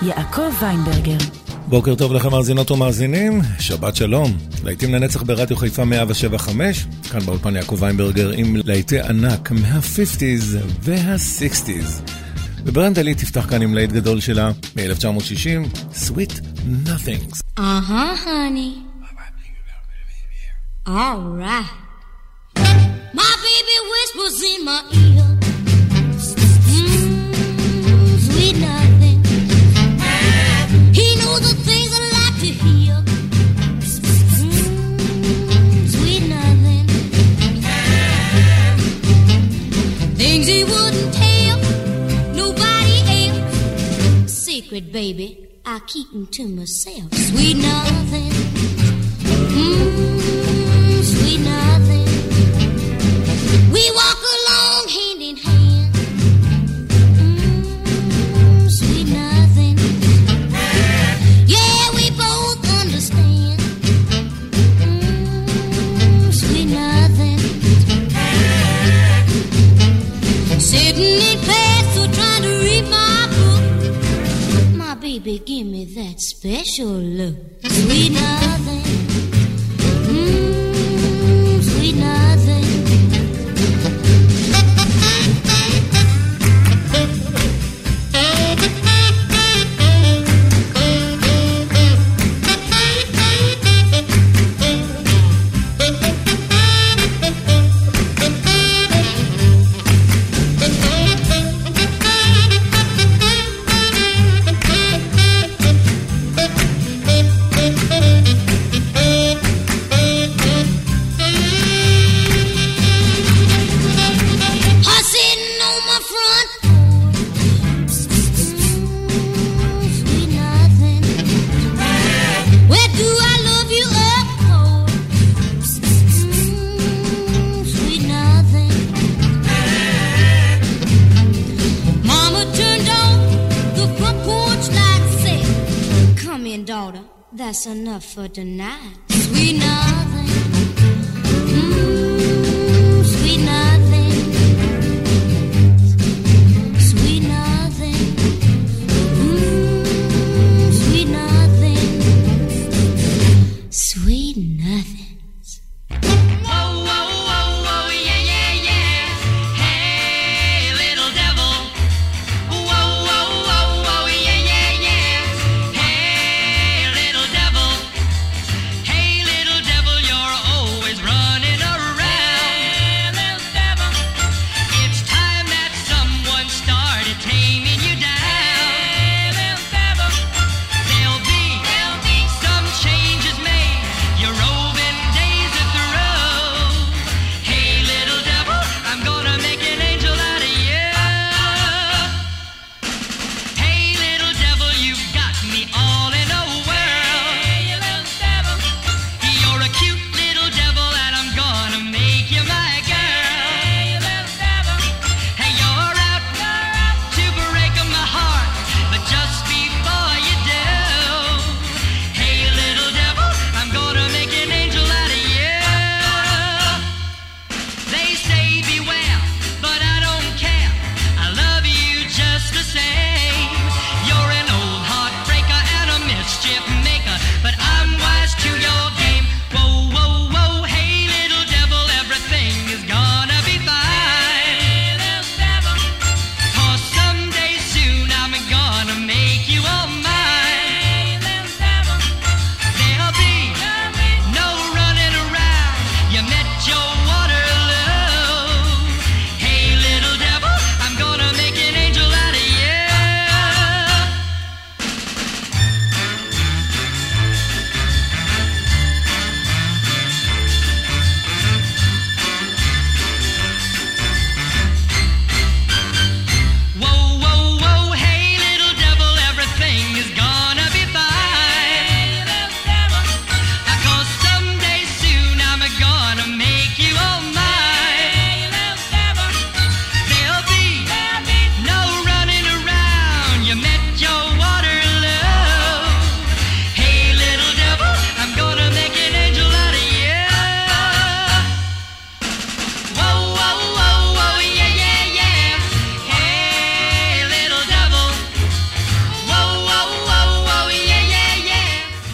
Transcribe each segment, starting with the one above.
יעקב ויינברגר. בוקר טוב לכם מאזינות ומאזינים, שבת שלום. להיטים לנצח ברדיו חיפה 107.5, כאן באולפן יעקב ויינברגר עם להיטי ענק מה-50s וה-60s. וברנדלי תפתח כאן עם להיט גדול שלה מ-1960, Sweet Nothings. honey. All right. My baby whispers in my ear. Sweet nothing. He knows the things I like to hear. Sweet nothing. Things he wouldn't tell nobody else. Secret, baby, I keep them to myself. Sweet nothing. Sweet nothing. We walk along hand in hand. Sweet nothing. Yeah, we both understand. Sweet nothing. Sitting in class or trying to read my book. My baby, give me that special look. Sweet nothing. Sweet nothing. That's enough for tonight. Sweet nothing. Sweet nothing. Sweet nothing. Sweet nothing. Sweet nothing. Devil,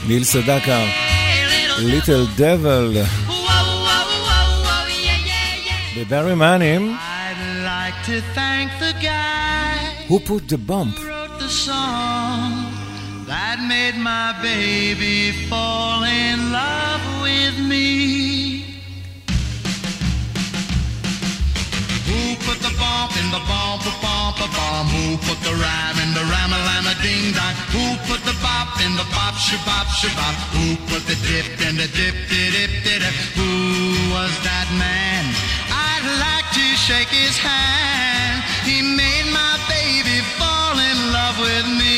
ניל סדקה, ליטל דבל. בברי מנים, Who Put the Bump. That made my baby fall in love with me. Who put the bump in the bump, bump, bump? Who put the rhyme in the rhyme-a-lama ding-dong? Who put the bop in the bop, shabop, shabop? Who put the dip in the dip-dip-dip-dip? Who was that man? I'd like to shake his hand. He made my baby fall in love with me.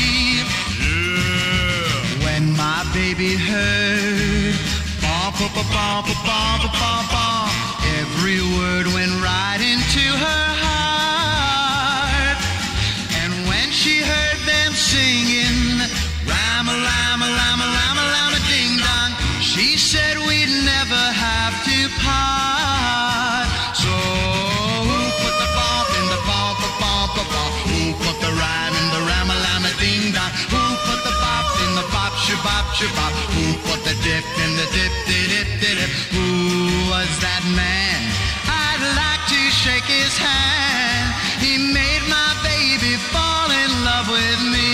My baby heard bump, bump, bump, bump, bump, bump. Every word went right into her heart. And when she heard them singing Ram-a-lam-a-lam-a-lam-a-lam-a ding dong, she said we'd never have to part. So who put the bump in the bump, bump, bump? Who put the rhyme in the Ram-a-lam-a ding dong? Who put the bop in the bop, shabop, shabop? Who put the dip in the dip-dip-dip-dip? Who was that man? I'd like to shake his hand. He made my baby fall in love with me.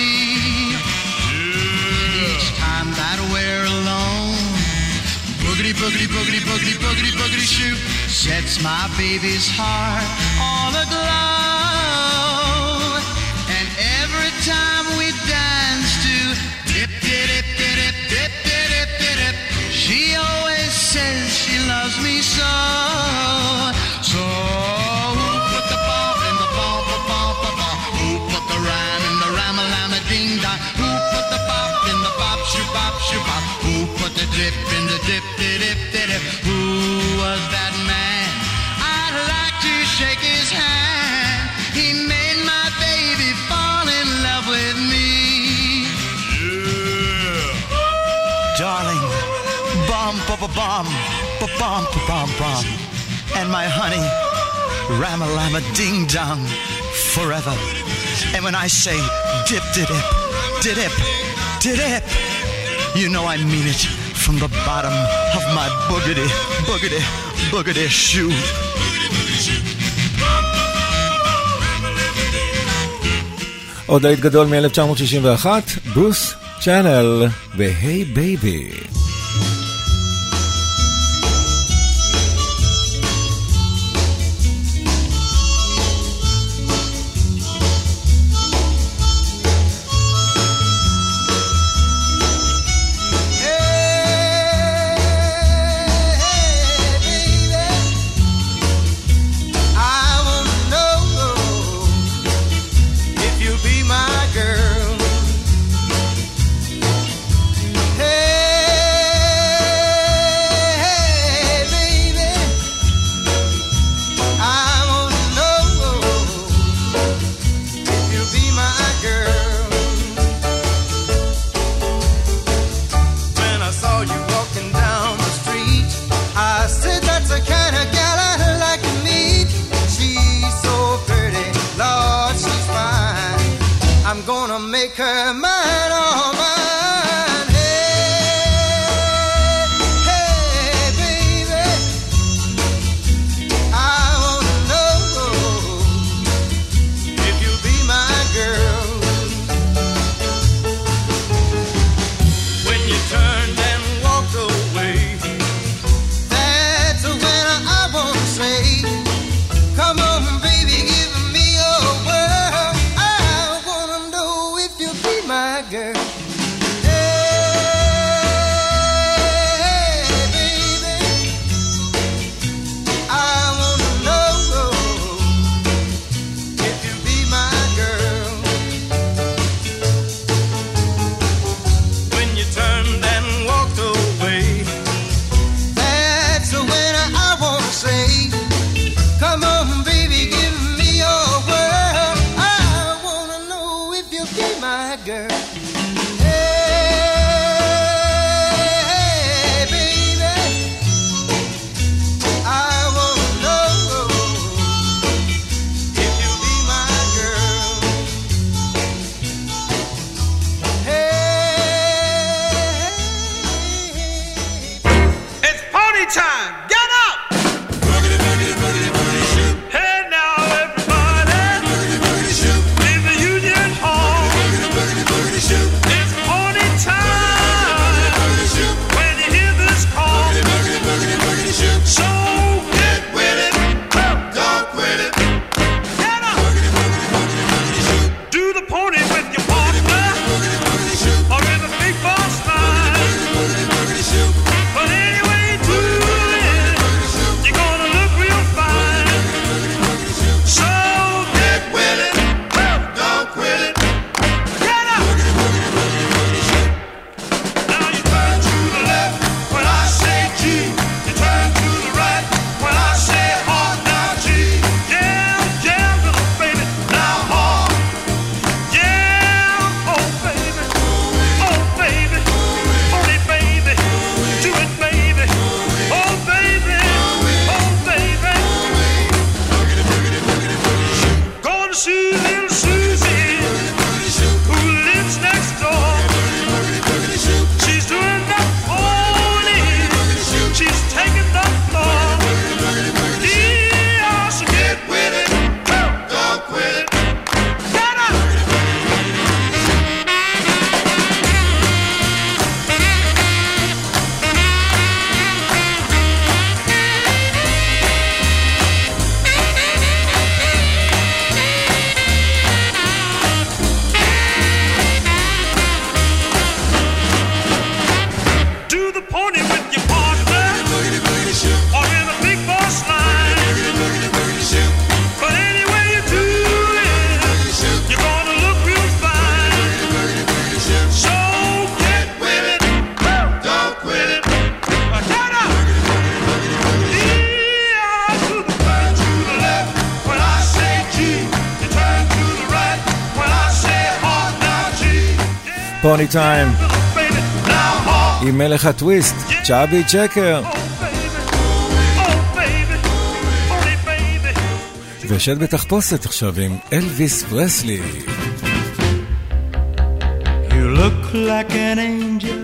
Yeah. Each time that we're alone, boogity, boogity, boogity, boogity, boogity, boogity shoot sets my baby's heart all aglow. And every time we dance to dip, dip, dip, dip, dip, dip, dip, she always says she loves me so. So who put the bump in the bump, bump, bump? Who put the rhyme in the rhyme-a-lama ding-dong? Who put the bop in the bop, shoo-bop, shoo-bop? Who put the dip in the dip, dip, dip, dip? Who was that man? I'd like to shake his hand. He made my baby fall in love with me. Darling, bum, bum, bum, bum, bum, bum, and my honey, ram-a-lama ding-dong, forever. And when I say dip, dip, dip, dip, you know I mean it from the bottom of my boogity, boogity, boogity shoe. עוד היית גדול מ-1961, ברוס צ'אנל ו-Hey Baby. פוני טיים עם מלך הטוויסט צ'אבי צ'קר ושד בתחפושת עכשיו עם אלוויס פרסלי. You look like an angel,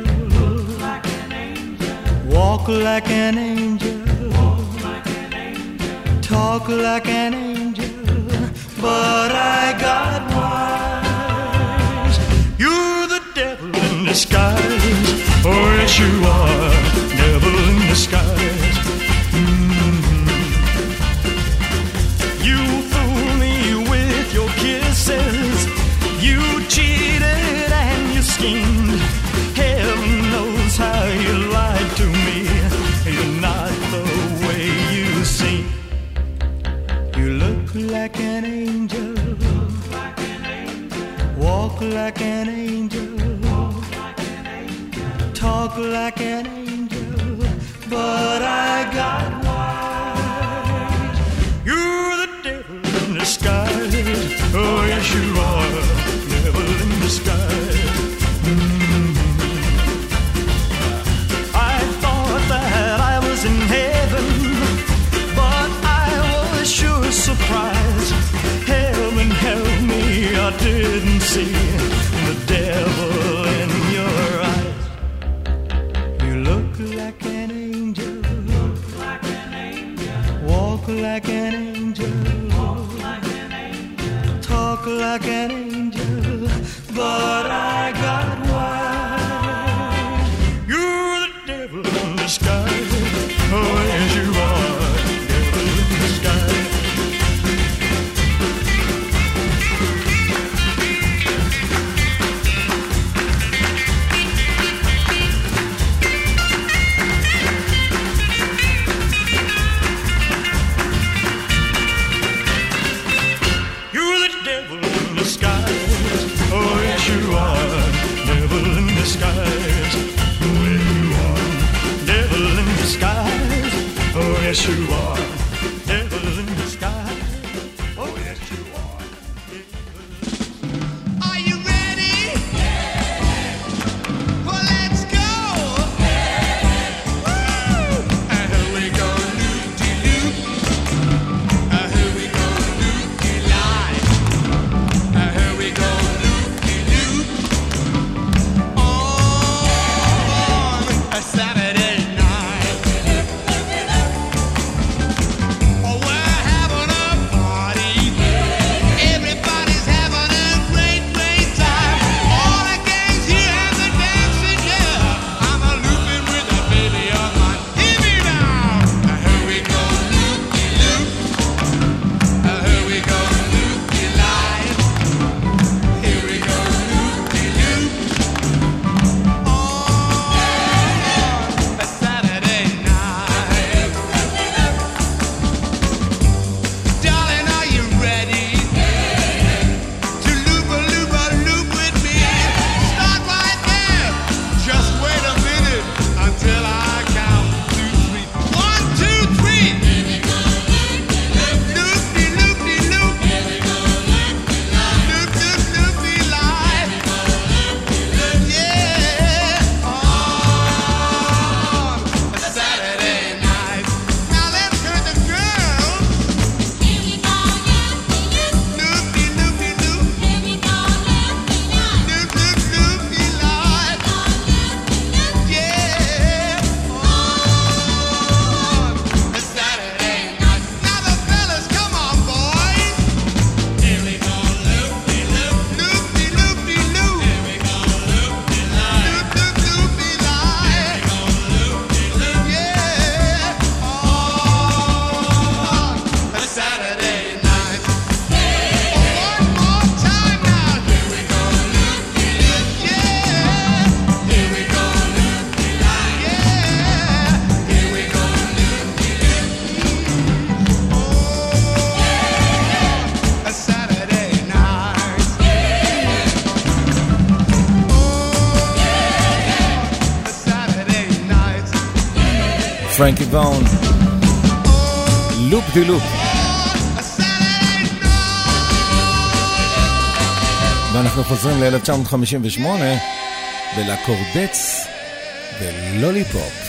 walk like an angel, talk like an angel, but I got wise. You're the devil in disguise. Oh yes you are, devil in disguise. You fool me with your kisses. You cheated and you schemed. Heaven knows how you lied to me. You're not the way you seem. You look like an angel, walk like an angel, talk like an angel, but I got wise. You're the devil in disguise. Oh yes you are, devil in disguise. I thought that I was in heaven, but I was sure surprised. Heaven help me, I didn't see the devil in your eyes. You look like an angel, walk like an angel, talk like an angel, but I got wise. You're the devil in disguise. Oh yes you are, devil in disguise. You're the devil in disguise. Oh yes you are, devil in disguise. Oh yes you are, devil in disguise. Oh yes you are, devil in disguise. Oh yes you are. Are you ready? Well, let's go. Woo! Here we go, loop-de-loop. Here we go, loop-de-lie. Here we go, loop-de-loop. On a Saturday night. Oh, we're having a party. Everybody's having a great, great time. All the gangs here and the dancing, yeah. I'm a looping with a baby on mine. Hear me now. Here we go, loop-de-loop. Here we go, loop-de-lie. Here we go, loop-de-loop. On a Saturday night. Darling, are you ready to loop-a-loop-a-loop with me? Start right there. Just wait a minute until I count 2, 3. 1, 2, 3. Loop-de-loop-de-loop. Loop-de-loop-de-lie. Yeah. On a Saturday night. Now let's hear the girls. Loop-de-loop-de-loop. Loop-de-loop-de-lie. Yeah. On a Saturday night. Now the fellas, come on, boys. Here we go, loop-de-loop. Loop-de-loop-de-loop. Here we go, loop-de-lie. Loop-de-loop-de-lie. Yeah. On a Saturday night. One more time now. Here we go, loop-de-loop. Yeah. Here we go, loop-de-lie. Yeah. Here we go, loop-de-loop. Oh, a Saturday night. Oh, a Saturday night. פרנקי וון, לופ די לופ. A Saturday night. ואנחנו חוזרים ל-1958 ולקורדץ ולוליפופ.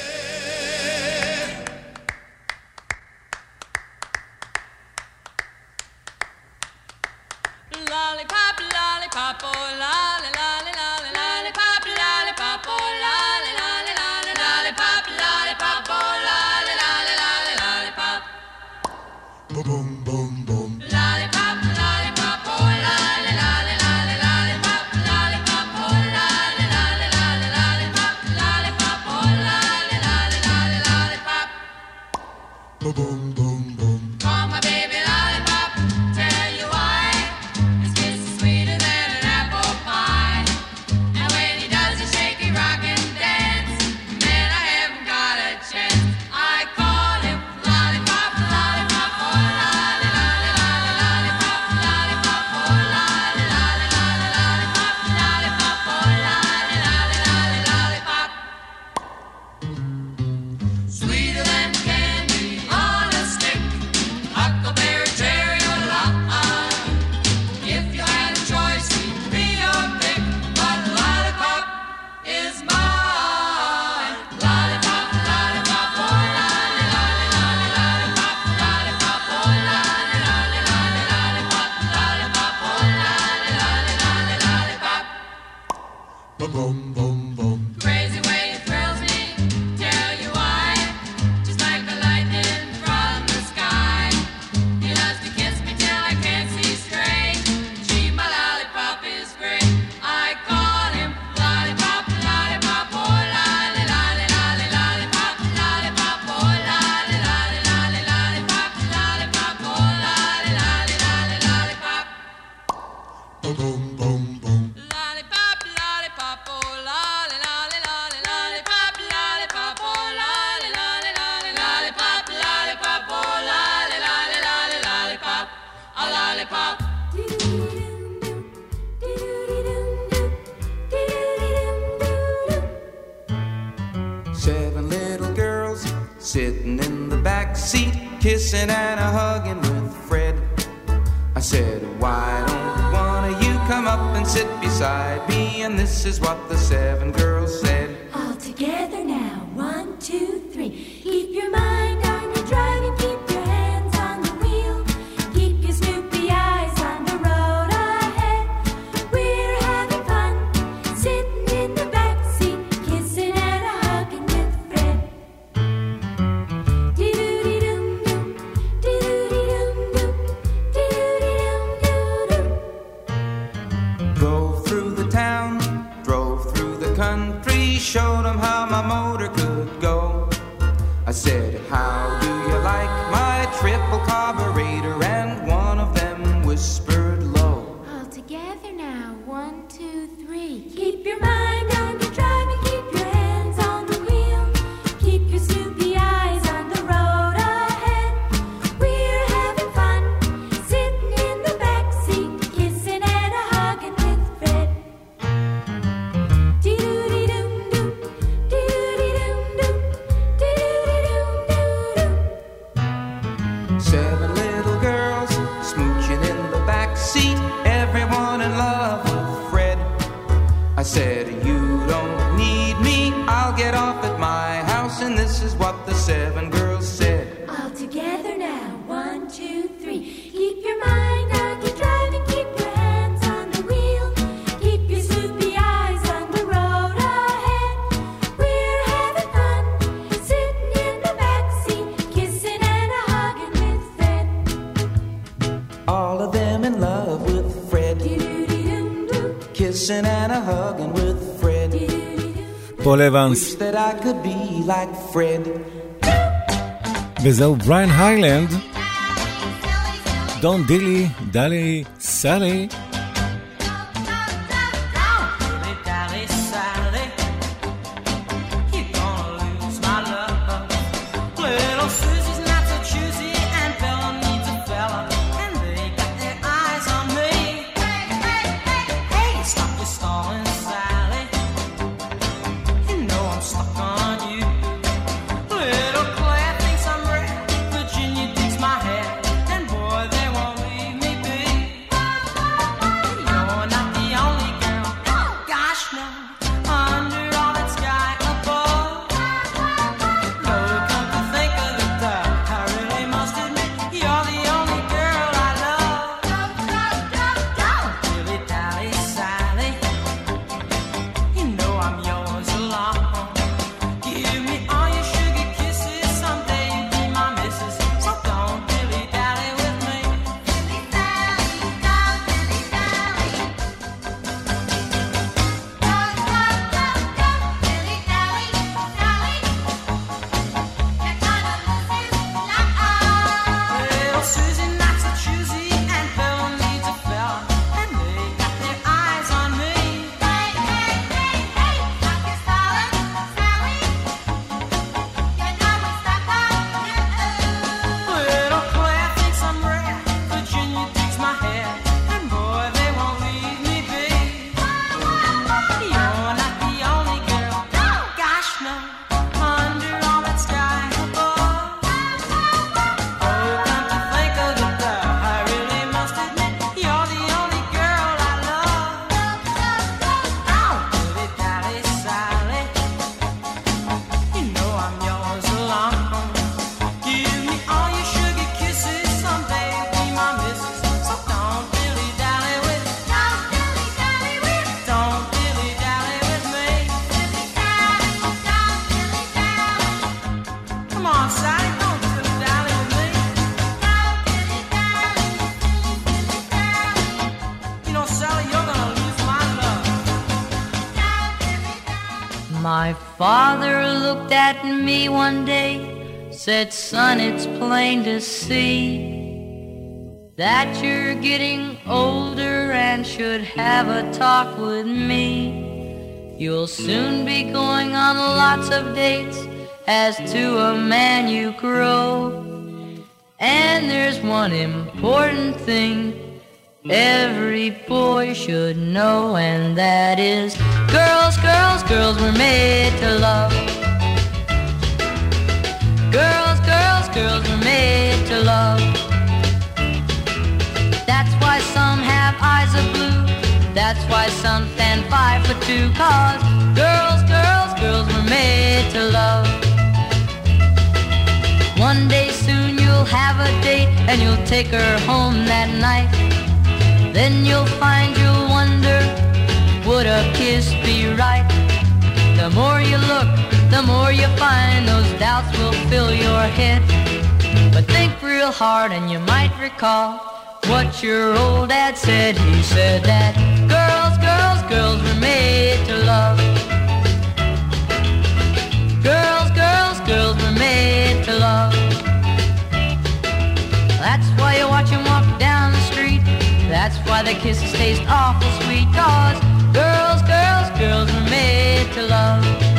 Sitting in the back seat, kissing and a hugging with Fred. I said, why don't one of you come up and sit beside me? And this is what the 7 girls said. All together now, 1, 2, 3. Keep your mind on your driving, keep your hands on the wheel. Keep your snoopy eyes on the road ahead. We're having fun, sitting in the back seat, kissing and a hugging with Fred. Drove through the town, drove through the country, showed them how my motor could go. I said, how do you like my triple carburetor? And one of them whispered low. All together now, 1, 2, 3. Keep your mind on your driving, keep your hands on the wheel. Keep your snoopy eyes on the road ahead. We're having fun, sitting in the back seat, kissing and a hugging with Fred. Dee-doo-dee-doo-doo, dee-doo-dee-doo-doo, dee-doo-dee-doo-doo-doo. 7 little girls smooching in the back seat, everyone in love with Fred. I said, you don't need me, I'll get off at my house. And this is what the 7 girls said. All together now, 1, 2, 3. Keep your mind on your driving, keep your hands on the wheel. Keep your snoopy eyes on the road ahead. We're having fun, sitting in the back seat, kissing and a hugging with Fred. All of them in love with Fred, Doo-doo-dee-doo-doo, kissing and a hugging with Fred. doo-doo-doo-doo. פול אבנס, Wish that I could be like Fred. וזהו בריין היילנד, דון דילי, דלי, סלי. Virginia digs my head, and boy, they won't leave me be. My father looked at me one day, said, son, it's plain to see that you're getting older and should have a talk with me. You'll soon be going on lots of dates, as to a man you grow. And there's one important thing every boy should know, and that is girls, girls, girls were made to love. Girls, girls, girls were made to love. That's why some have eyes of blue, that's why some stand 5'2", 'cause girls, girls, girls were made to love. One day soon you'll have a date and you'll take her home that night. Then you'll find you'll wonder, would a kiss be right? The more you look, the more you find those doubts will fill your head. But think real hard and you might recall what your old dad said. He said that girls, girls, girls were made to love. Girls, girls, girls were made to love. That's why you watch him walk down the street. That's why the kisses taste awful sweet. 'Cause girls, girls, girls were made to love.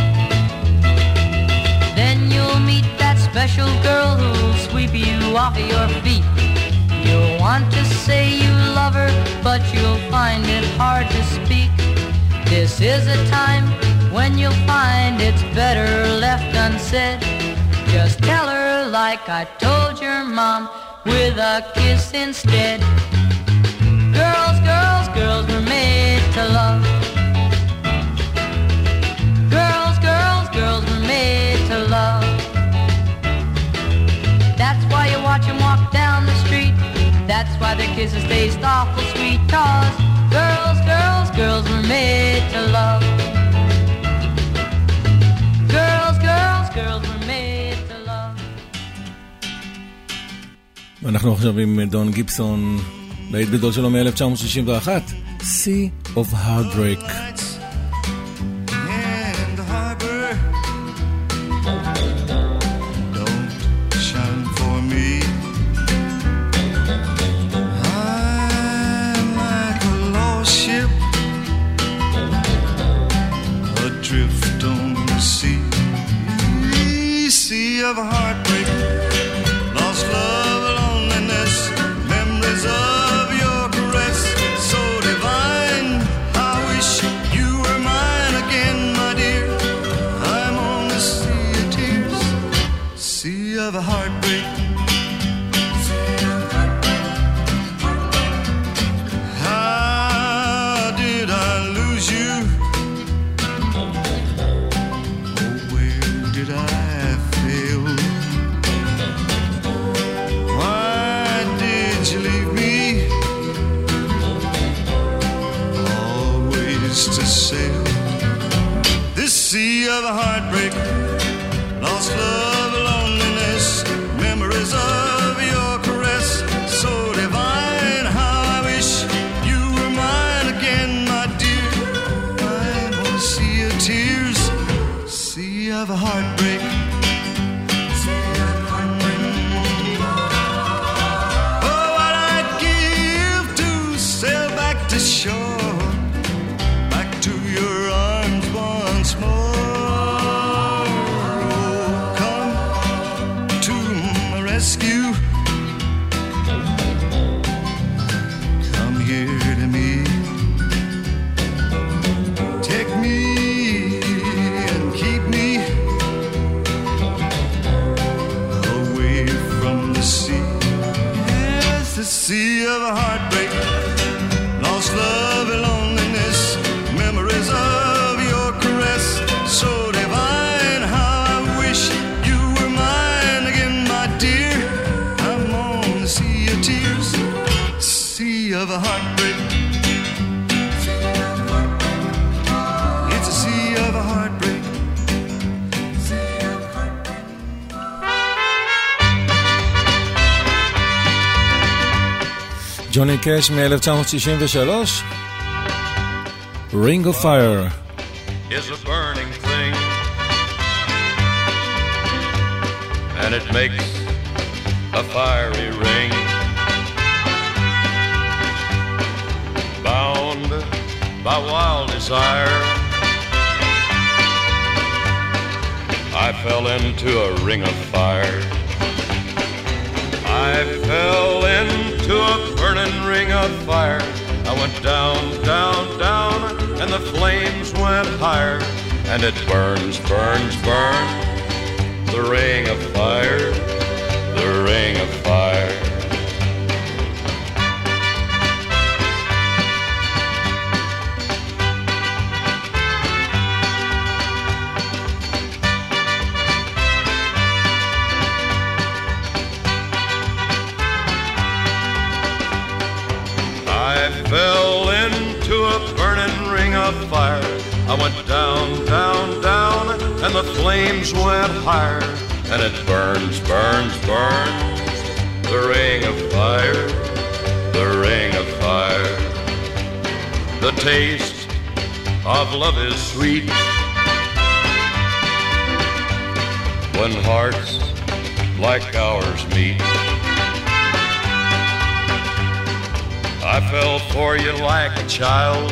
Then you'll meet that special girl who'll sweep you off of your feet. You'll want to say you love her, but you'll find it hard to speak. This is a time when you'll find it's better left unsaid. Just tell her like I told your mom, with a kiss instead. Girls, girls, girls were made to love. Girls, girls, girls were made to love. That's why you watch them walk down the street. That's why their kisses taste awful sweet. 'Cause girls, girls, girls were made to love. Girls, girls, girls were made to love. ואנחנו עכשיו עם דון גיבסון, להיט גדול שלו מ-1961, Sea of Heartbreak. Of heartbreak, lost love, loneliness, memories of your caress, so divine. I wish you were mine again, my dear. I'm on the sea of tears, sea of heartbreak. How did I lose you? Oh, where did I? Sea of heartbreak, lost love, loneliness, memories of your caress, so divine. How I wish you were mine again, my dear. I'm on a sea of tears, sea of heartbreak. Oh, what I'd give to sail back to shore, back to your arms once more. Rescue, come here to me, take me and keep me away from the sea. Yes, the sea of a heartbreak, lost love and loneliness, memories of your caress, so divine. How I wish you were mine again, my dear. I'm on the sea of tears, sea of a heartbreak. It's a sea of a heartbreak. ג'וני קאש מ-1963, Ring of Fire. Is a burning thing and it makes a fiery ring. Bound by wild desire, I fell into a ring of fire. I fell into a burning ring of fire. I went down, down, down, and the flames went higher. And it burns, burns, burns, the ring of fire, the ring of fire. I fell into a burning ring of fire. I went down, down, down, and the flames went higher. And it burns, burns, burns, the ring of fire, the ring of fire. The taste of love is sweet when hearts like ours meet. I fell for you like a child.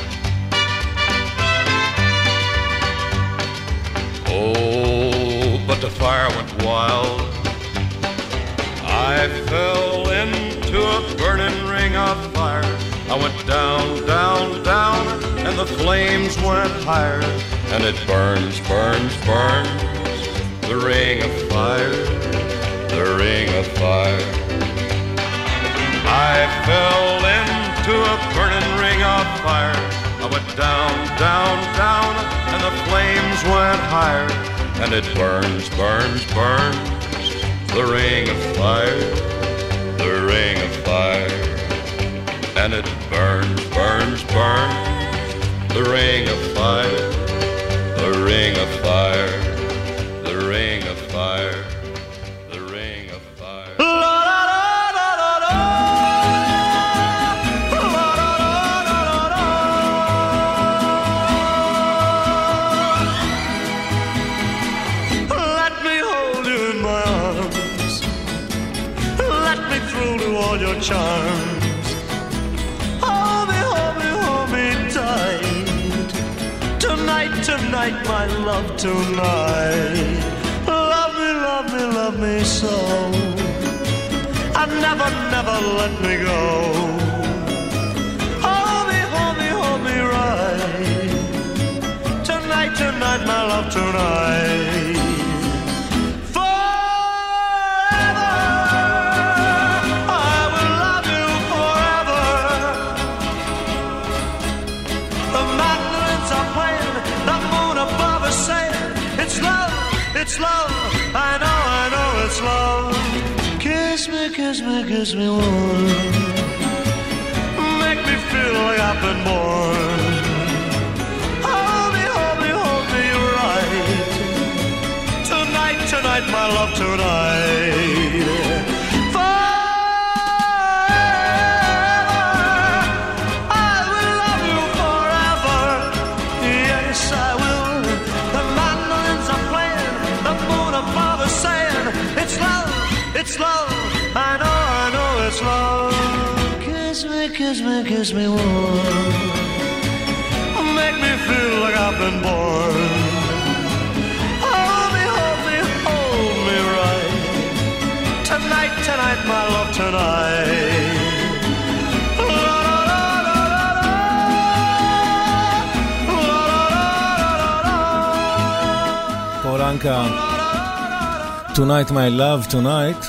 Oh, but the fire went wild. I fell into a burning ring of fire. I went down, down, down, and the flames went higher. And it burns, burns, burns, the ring of fire, the ring of fire. I fell into a burning ring of fire. I went down, down, down, and the flames went higher. And it burns, burns, burns, the ring of fire, the ring of fire. And it burns, burns, burns, the ring of fire, the ring of fire, the ring of fire, the ring of fire. Charms. Hold me, hold me, hold me tight. Tonight, tonight, my love, tonight. Love me, love me, love me so. And never, never let me go. Hold me right. Tonight, tonight, my love, tonight. It's love, I know it's love. Kiss me, kiss me, kiss me warm. Make me feel like I've been born. Hold me, hold me, hold me right. Tonight, tonight, my love, tonight. It's love, I know it's love. Kiss me, kiss me, kiss me warm. Make me feel like I've been born. Hold me, hold me, hold me right. Tonight, tonight, my love, tonight. פולנקה, Tonight my love, tonight.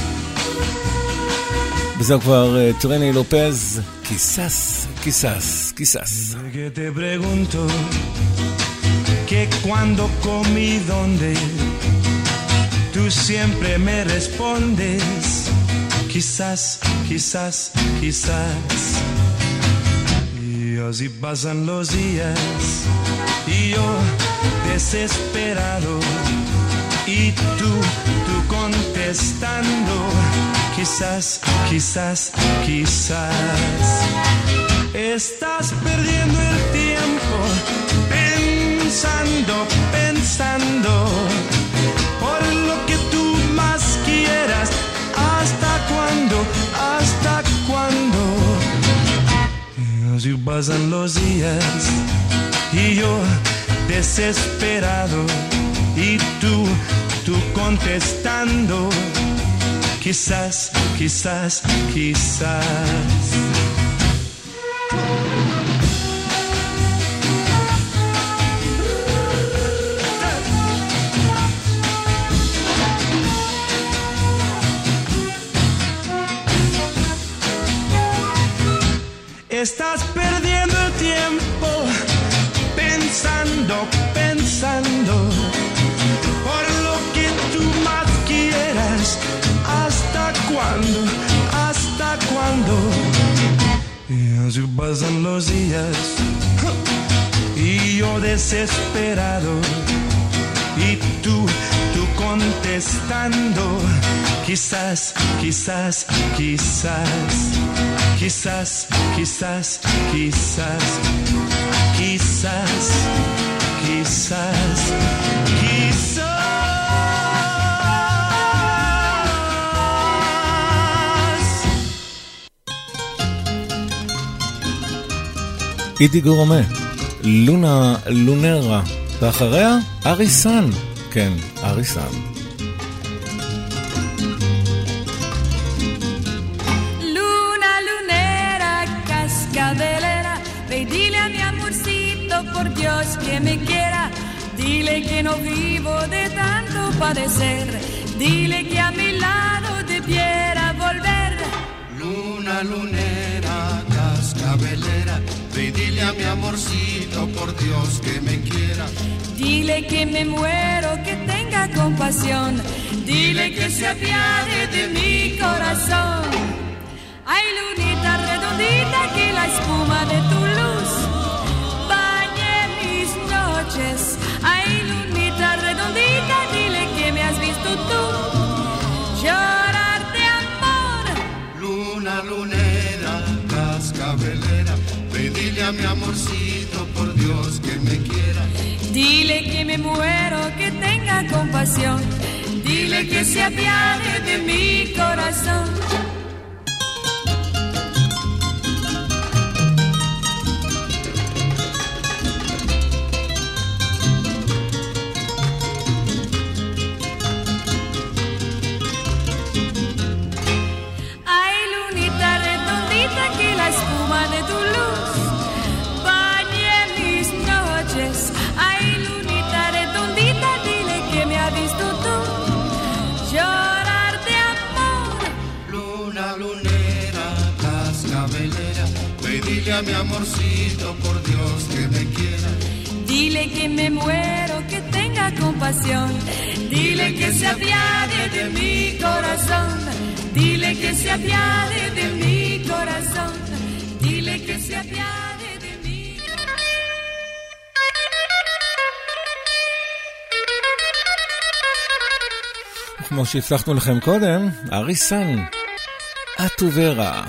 וזהו כבר טרני לופז, quizás, quizás, quizás. Que te pregunto que cuando comí donde tú siempre me respondes quizás, quizás, quizás. Y así pasan los días y yo desesperado y tú contestando quizás, quizás, quizás. Estás perdiendo el tiempo pensando, pensando por lo que tú así pasan los días y yo desesperado y tú contestando, quizás, quizás, quizás. Estás perdiendo el tiempo pensando por lo que tú más quieras. ¿Hasta cuándo? Y así pasan los días y yo desesperado y tú contestando, quizás, quizás, quizás. Quizás, quizás, quizás, quizás, quizás, quizás. איטי גורמה, לונרה, ואחריה אריסן, כן, אריסן. Ve y dile a mi amorcito, por Dios que me quiera. Dile que no vivo de tanto padecer. Dile que a mi lado debiera volver. Luna, lunera, cascabelera, ve y dile a mi amorcito, por Dios que me quiera. Dile que me muero, que tenga compasión. Dile que se apiade de mi corazón. Ay, lunita redondita, que la espuma de tu luz bañe mis noches. Ay, lunita redondita, dile que me has visto tú llorar de amor. Luna, lunera, cascabelera, ve y dile a mi amorcito, por Dios que me quiera. Dile que me muero, que tenga compasión. Dile que se apiade de mi corazón. Dile a mi amorcito, por Dios que me quiera. Dile que me muero, que tenga compasión. Dile que se apiade de mi corazón. Dile que se apiade de mi corazón. Dile que se apiade de mi corazón. כמו שהצלחנו לכם קודם, אריסן, אטוברה.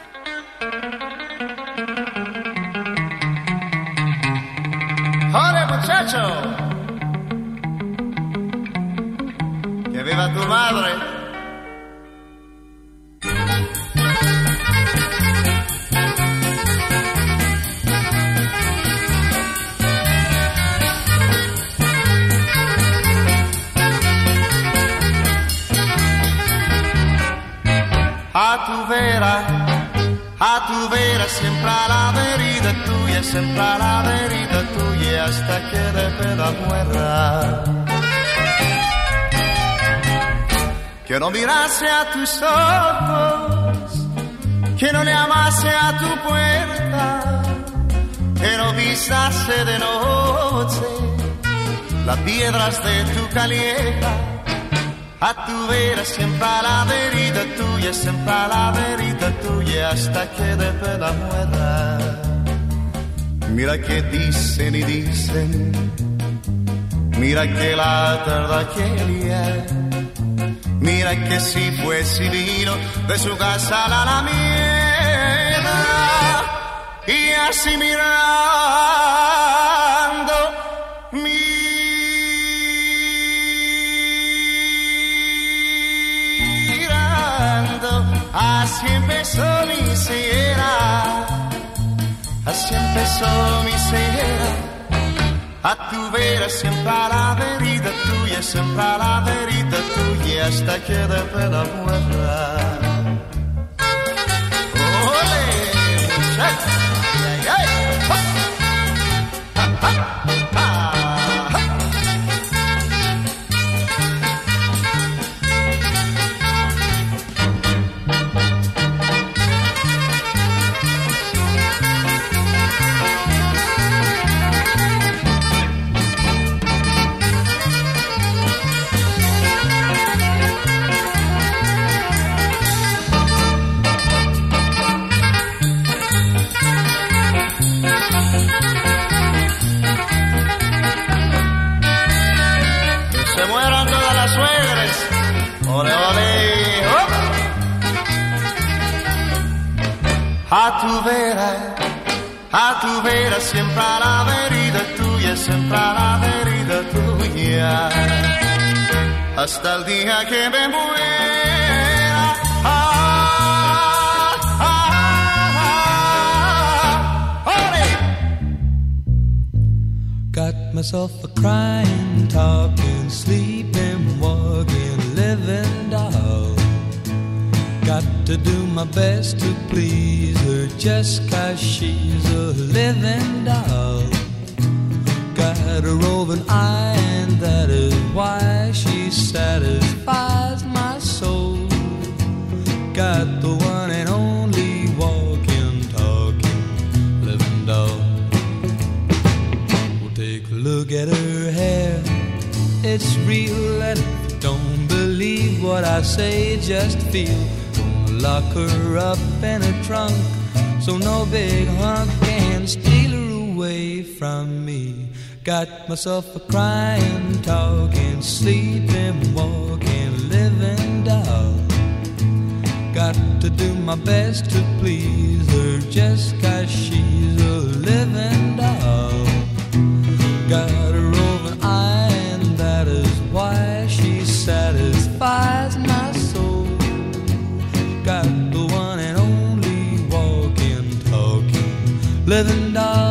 ¡Jore, muchacho! ¡Que viva tu madre! A tu vera, siempre a la verita tuya, siempre a la verita tuya, hasta que de pena muera. Que no mirase a tus ojos, que no le amase a tu puerta, que no pisase de noche las piedras de tu caleta. A tu vera, siempre a la verita tuya, siempre a la verita tuya, hasta que de pena muera. Mira que dicen y dicen, mira que la tarde aquella, mira que si fuese vino de su casa a la alameda, y así mirando, así empezó mi siguiera, Así empezó mi cera. A tu vera siempre a la verita tuya, siempre a la verita tuya, hasta que de la muerta. ¡Ole! ¡Ay, ay! ¡Ha! ¡Ha, ha, ha! Ole, ole, oh. A tu vera, siempre a la verita tuya, siempre a la verita tuya, hasta el día que me muera. Ole. Got myself a crying, talking, sleeping, walking, living doll. Got to do my best to please her just 'cause she's a living doll. Got a roving eye and that is why she satisfies my soul. Got the one and only walking, talking, living doll. We'll take a look at her hair. It's real and if you don't believe what I say, just feel. Gonna lock her up in a trunk so no big hunk can steal her away from me. Got myself a crying, talking, sleeping, walking, living doll. Got to do my best to please her just 'cause she's a living doll. Got a roving eye and that is why she satisfies my soul. Got the one and only walking, talking, living doll.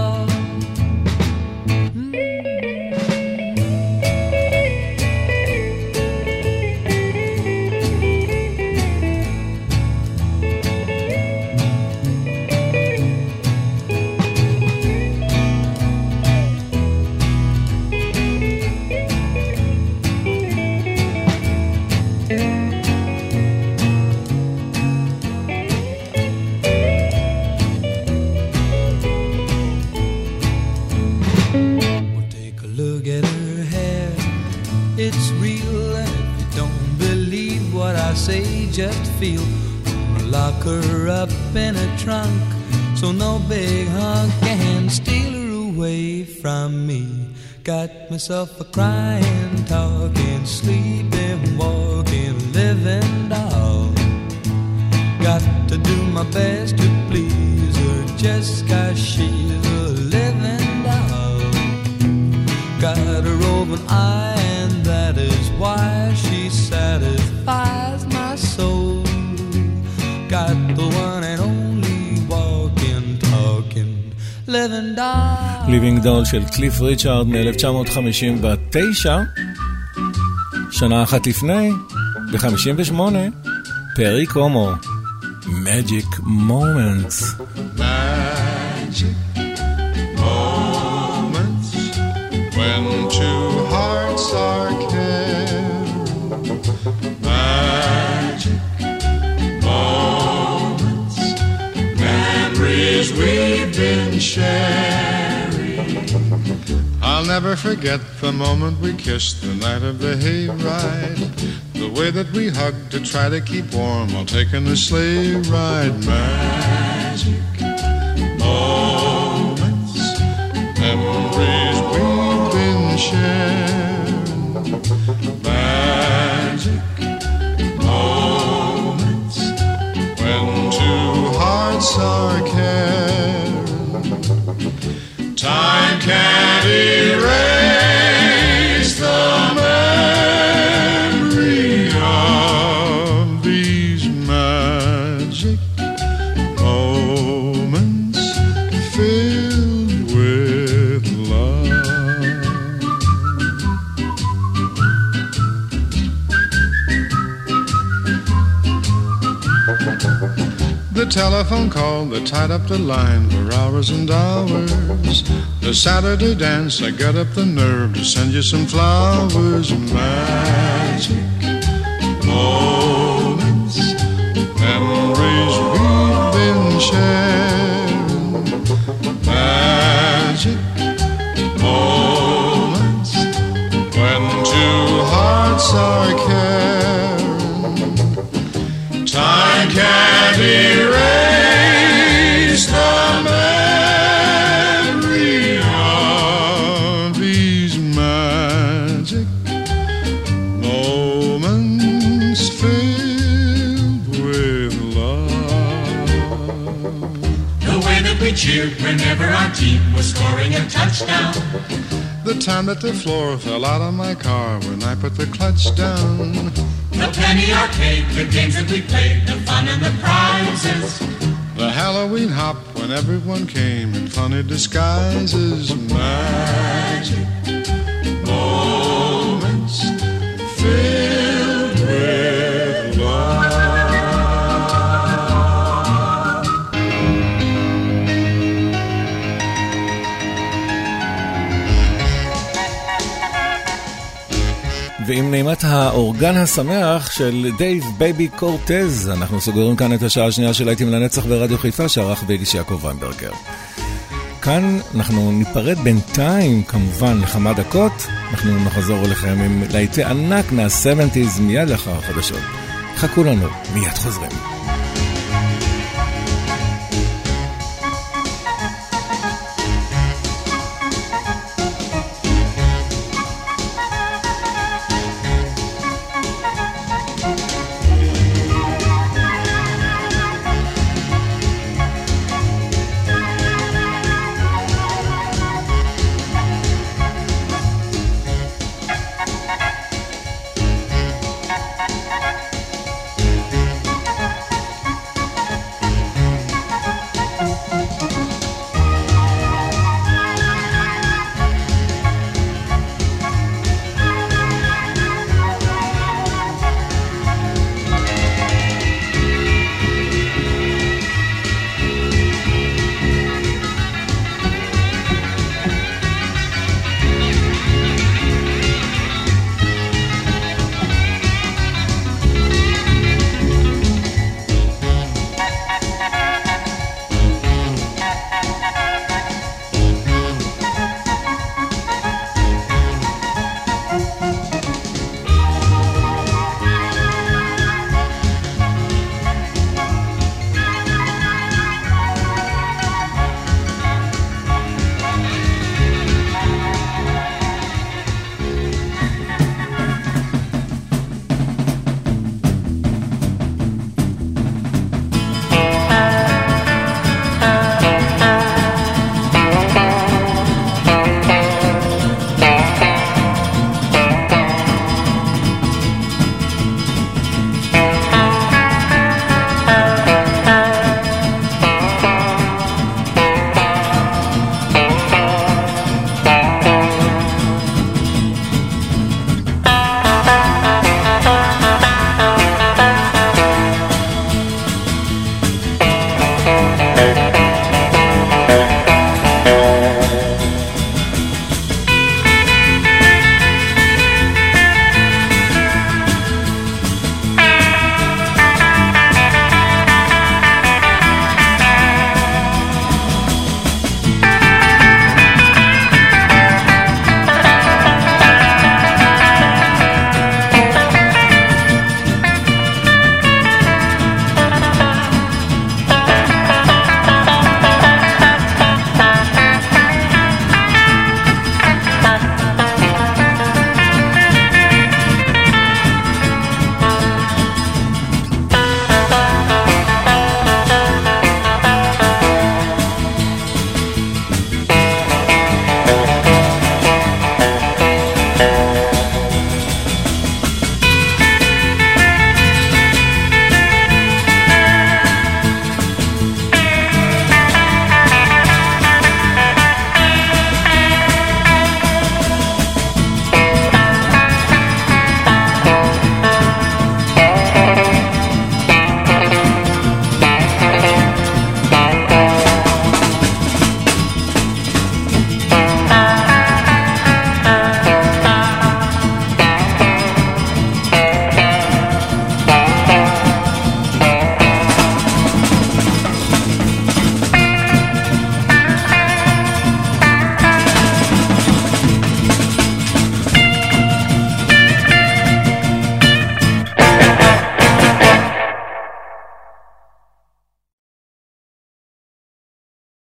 Just feel. Gonna lock her up in a trunk so no big hunk can steal her away from me. Got myself a crying, talking, sleeping, walking, living doll. Got to do my best to please her just 'cause she's a living doll. Got a roving eye and that is why she satisfies my soul. Got the one and only walking, talking, living doll. Living doll של קליף ריצ'ארד מ-1959, שנה אחת לפני, ב-58, פרי קומו, Magic Moments. Magic moments when two hearts are caring. Magic moments, memories we've been sharing. I'll never forget the moment we kissed the night of the hayride. The way that we hugged to try to keep warm while taking the sleigh ride. Magic moments, memories we've been sharing. Magic moments when two hearts are caring. Time can't erase the memory of these magic moments. The telephone call that tied up the line for hours and hours. The Saturday dance, I got up the nerve to send you some flowers. Magic moments, memories we've been sharing. Magic moments, when two hearts are caring. Time can't erase the memory of these magic moments filled with love. The way that we cheered whenever our team was scoring a touchdown. The time that the floor fell out of my car when I put the clutch down. The penny arcade, the games that we played, the fun and the prizes. The Halloween hop when everyone came in funny disguises. Magic moments filled with love. ועם נעימת האורגן השמח של דייב בייבי קורטז, אנחנו סוגרים כאן את השעה השנייה של להיטים לנצח ברדיו חיפה, שערך והגיש יעקב ויינברגר. כאן אנחנו ניפרד בינתיים, כמובן, לכמה דקות. אנחנו נחזור אליכם עם להיטי ענק מה-70s מיד לאחר החדשות. חכו לנו, מיד חוזרים.